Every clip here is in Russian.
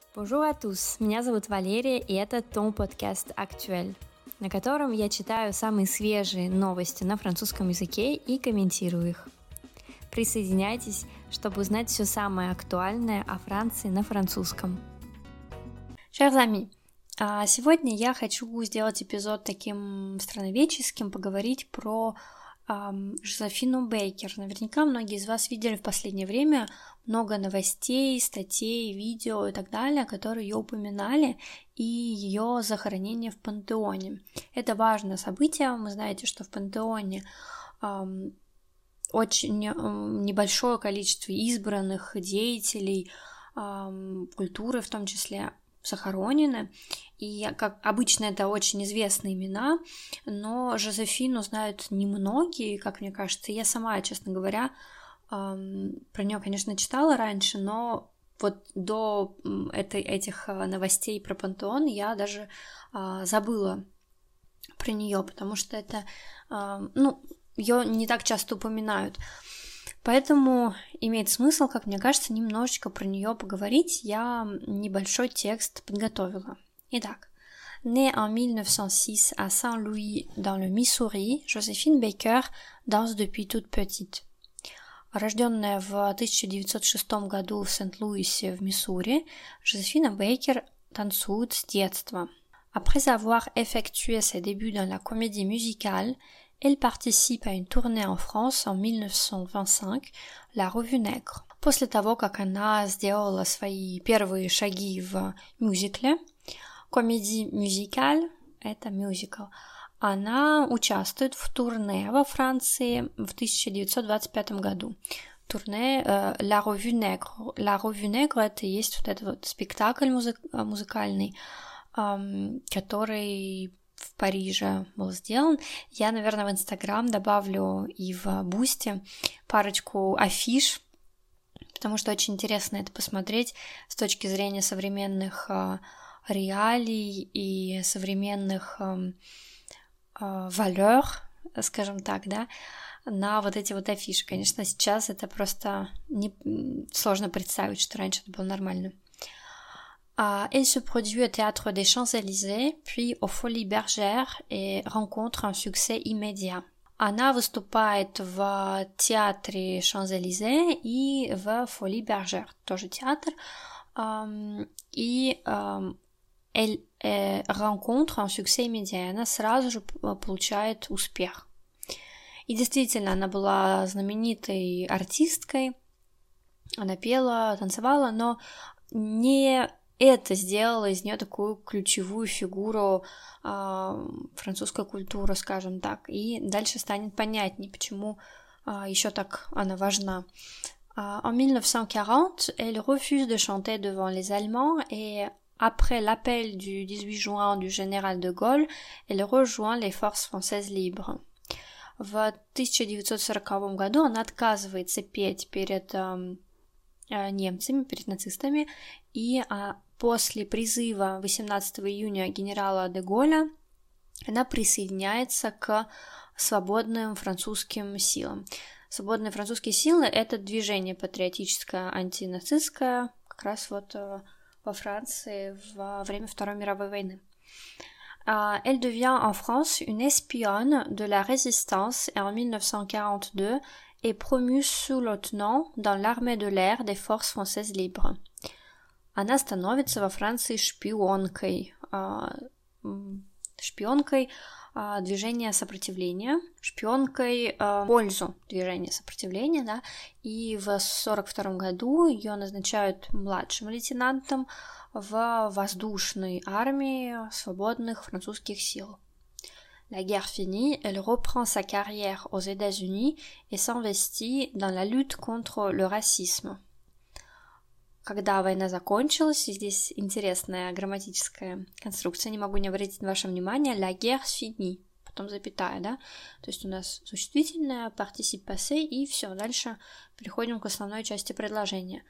Bonjour à tous, меня зовут Валерия, и это Ton подкаст Actuel, на котором я читаю самые свежие новости на французском языке и комментирую их. Присоединяйтесь, чтобы узнать все самое актуальное о Франции на французском. Chers amis, сегодня я хочу сделать эпизод таким страноведческим, поговорить про Жозефину Бейкер. Наверняка многие из вас видели в последнее время много новостей, статей, видео и так далее, которые ее упоминали, и ее захоронение в Пантеоне. Это важное событие. Вы знаете, что в Пантеоне очень небольшое количество избранных деятелей культуры, в том числе, захоронены, и, как обычно, это очень известные имена, но Жозефину знают немногие, как мне кажется. Я сама, честно говоря, про нее, конечно, читала раньше, но вот до этих новостей про Пантеон я даже забыла про нее, потому что это, ее не так часто упоминают. Поэтому имеет смысл, как мне кажется, немножечко про нее поговорить. Я небольшой текст подготовила. Итак, née en 1906 à Saint-Louis dans le Missouri, Joséphine Baker danse depuis toute petite. Рожденная в 1906 году в Сент-Луисе в Миссури, Жозефина Бейкер танцует с детства. Après avoir effectué ses débuts dans la comédie musicale, elle participe à une tournée en France en 1925, la Revue Nègre. После того, как она сделала свои первые шаги в мюзикле, комедий мюзикаль, это мюзикл, она участвует в турне во Франции в 1925 году. Турне La Revue Nègre. La Revue Nègre — это есть вот этот вот спектакль музыкальный, который в Париже был сделан. Я, наверное, в Инстаграм добавлю и в Бусти парочку афиш, потому что очень интересно это посмотреть с точки зрения современных реалий и современных valeur, скажем так, да, на вот эти вот афиши. Конечно, сейчас это просто сложно представить, что раньше это было нормально. Elle se produit au Théâtre des Champs-Élysées, puis aux Folies Bergères et rencontre un succès immédiat. Она выступает в театре Champs-Élysées и в Folies Bergères, тоже театр, и elle rencontre un succès immédiat. Она сразу же получает успех. И действительно, она была знаменитой артисткой, она пела, танцевала, но не это сделало из нее такую ключевую фигуру французской культуры, скажем так. И дальше станет понятнее, почему еще так она важна. En 1940, elle refuse de chanter devant les Allemands et après l'appel du 18 juin du général de Gaulle, elle rejoint les forces françaises libres. В 1940 году она отказывается петь перед немцами, перед нацистами, и после призыва 18 июня генерала де Голля она присоединяется к свободным французским силам. Свободные французские силы — это движение патриотическое, антинацистское, как раз вот во Франции во время Второй мировой войны. Elle devient en France une espionne de la résistance et en 1942 est promue sous-lieutenant dans l'armée de l'air des forces françaises libres. Она становится во Франции шпионкой движения сопротивления, шпионкой в пользу движения сопротивления, да, и в 1942 году ее назначают младшим лейтенантом в воздушной армии свободных французских сил. La guerre finie, elle reprend sa carrière aux États-Unis et s'investit dans la lutte contre le racisme. Когда война закончилась, и здесь интересная грамматическая конструкция, не могу не обратить на ваше внимание, la guerre finie, потом запятая, да, то есть у нас существительное, participe passé, и все, дальше переходим к основной части предложения.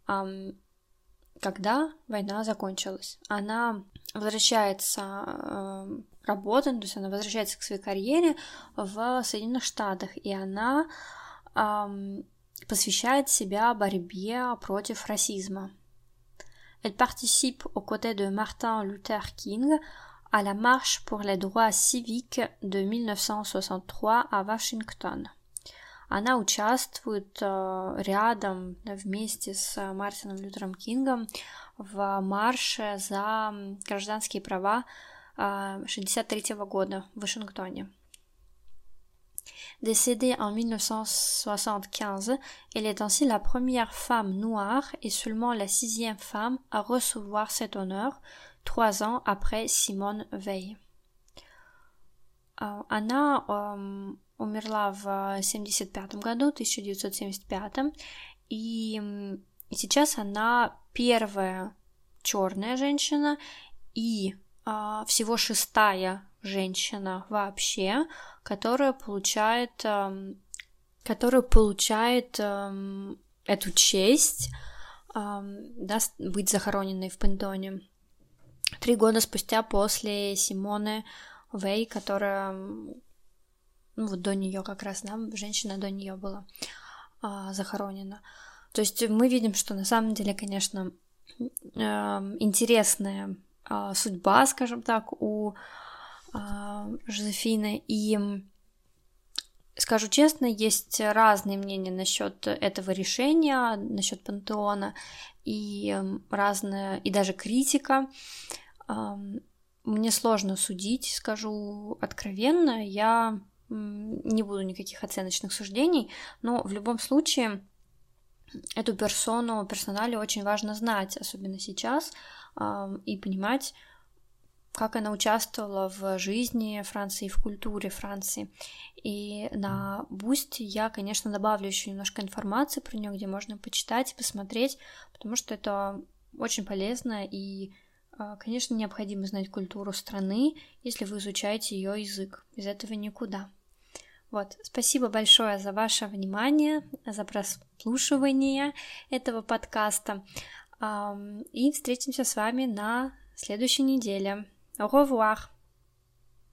Когда война закончилась, она возвращается работать, то есть она возвращается к своей карьере в Соединенных Штатах, и она посвящает себя борьбе против расизма. Elle participe aux côtés de Martin Luther King à la marche pour les droits civiques de 1963 à Вашингтон. Она участвует рядом вместе с Мартином Лютером Кингом в марше за гражданские права 1963 года в Вашингтоне. Décédée en 1975, elle est ainsi la première femme noire et seulement la 6e femme à recevoir cet honneur, 3 ans après Simone Veil. Она умерла в 1975 году, 1975, и сейчас она первая черная женщина и всего 6-я женщина вообще, которая получает эту честь быть захороненной в Пентоне 3 года спустя после Симоне Вей, которая до нее как раз, женщина до нее была захоронена. То есть мы видим, что на самом деле, конечно, интересная судьба, скажем так, у Жозефины, и скажу честно, есть разные мнения насчет этого решения, насчет пантеона, и разная, и даже критика. Мне сложно судить, скажу откровенно, я не буду никаких оценочных суждений, но в любом случае эту персоналию очень важно знать, особенно сейчас, и понимать, как она участвовала в жизни Франции, в культуре Франции. И на Boosty я, конечно, добавлю еще немножко информации про нее, где можно почитать и посмотреть, потому что это очень полезно и, конечно, необходимо знать культуру страны, если вы изучаете ее язык. Без этого никуда. Вот, спасибо большое за ваше внимание, за прослушивание этого подкаста. И встретимся с вами на следующей неделе. Au revoir!